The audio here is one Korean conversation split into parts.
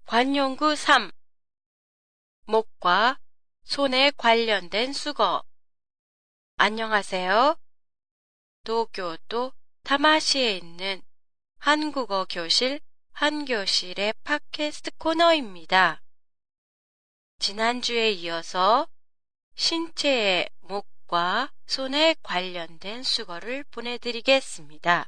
관용구 3. 목과 손에 관련된 수거. 안녕하세요. 도쿄도 타마시에 있는 한국어 교실 한교실의 팟캐스트 코너입니다. 지난주에 이어서 신체의 목과 손에 관련된 수거를 보내드리겠습니다.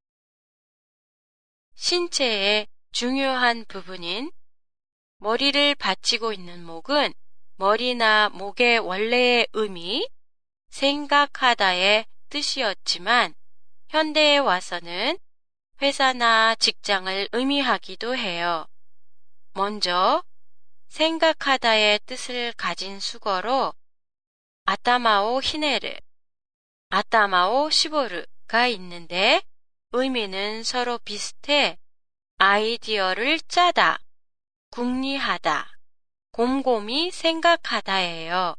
신체의 중요한 부분인 머리를 받치고 있는 목은 머리나 목의 원래의 의미, 생각하다의 뜻이었지만 현대에 와서는 회사나 직장을 의미하기도 해요. 먼저 생각하다의 뜻을 가진 수거로 아타마오 히네르, 아타마오 시보르가 있는데 의미는 서로 비슷해 아이디어를 짜다, 궁리하다, 곰곰이 생각하다예요.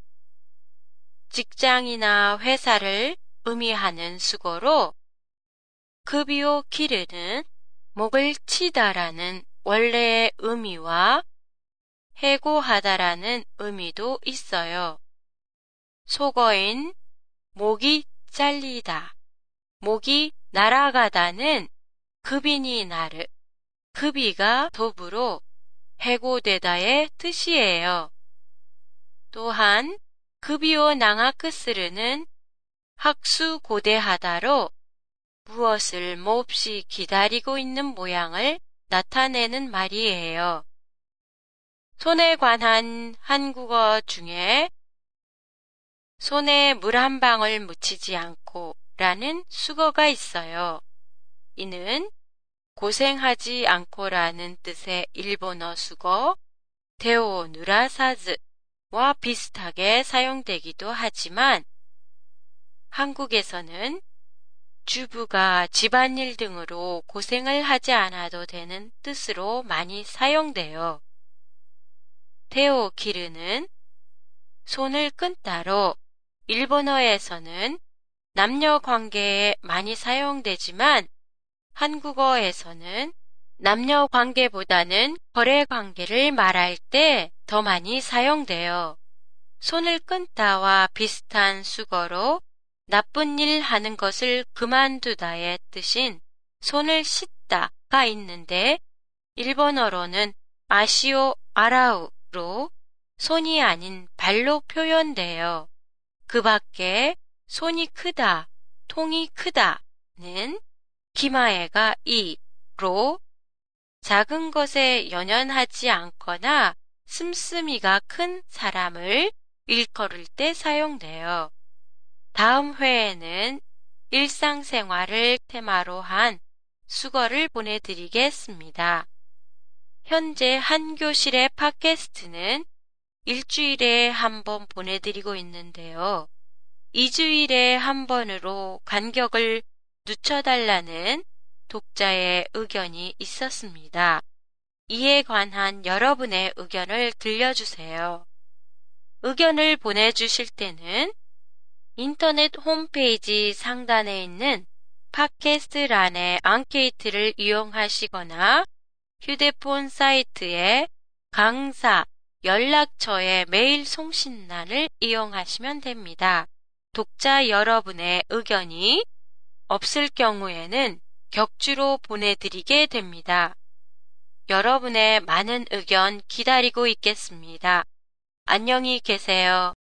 직장이나 회사를 의미하는 수거로 급이오 기르는 목을 치다라는 원래의 의미와 해고하다라는 의미도 있어요. 속어인 목이 잘리다, 목이 날아가다는 급이니 나르, 급이가 도부로 해고되다의 뜻이에요. 또한 급이오 낭아크스르는 학수고대하다로 무엇을 몹시 기다리고 있는 모양을 나타내는 말이에요. 손에 관한 한국어 중에 손에 물 한 방울 묻히지 않고 라는 수거가 있어요. 이는 고생하지 않고라는 뜻의 일본어 수거 데오 누라사즈와 비슷하게 사용되기도 하지만 한국에서는 주부가 집안일 등으로 고생을 하지 않아도 되는 뜻으로 많이 사용돼요. 데오 기르는 손을 끈다로 일본어에서는 남녀 관계에 많이 사용되지만 한국어에서는 남녀 관계보다는 거래 관계를 말할 때 더 많이 사용돼요. 손을 끈다와 비슷한 수거로 나쁜 일 하는 것을 그만두다의 뜻인 손을 씻다가 있는데 일본어로는 아시오 아라우로 손이 아닌 발로 표현돼요. 그 밖에 손이 크다, 통이 크다는 기마에가 이로 작은 것에 연연하지 않거나 씀씀이가 큰 사람을 일컬을 때 사용돼요. 다음 회에는 일상생활을 테마로 한 수거를 보내드리겠습니다. 현재 한교실의 팟캐스트는 일주일에 한 번 보내드리고 있는데요. 2주일에 한 번으로 간격을 늦춰달라는 독자의 의견이 있었습니다. 이에 관한 여러분의 의견을 들려주세요. 의견을 보내주실 때는 인터넷 홈페이지 상단에 있는 팟캐스트란의 앙케이트를 이용하시거나 휴대폰 사이트의 강사 연락처의 메일 송신란을 이용하시면 됩니다. 독자 여러분의 의견이 없을 경우에는 격주로 보내드리게 됩니다. 여러분의 많은 의견 기다리고 있겠습니다. 안녕히 계세요.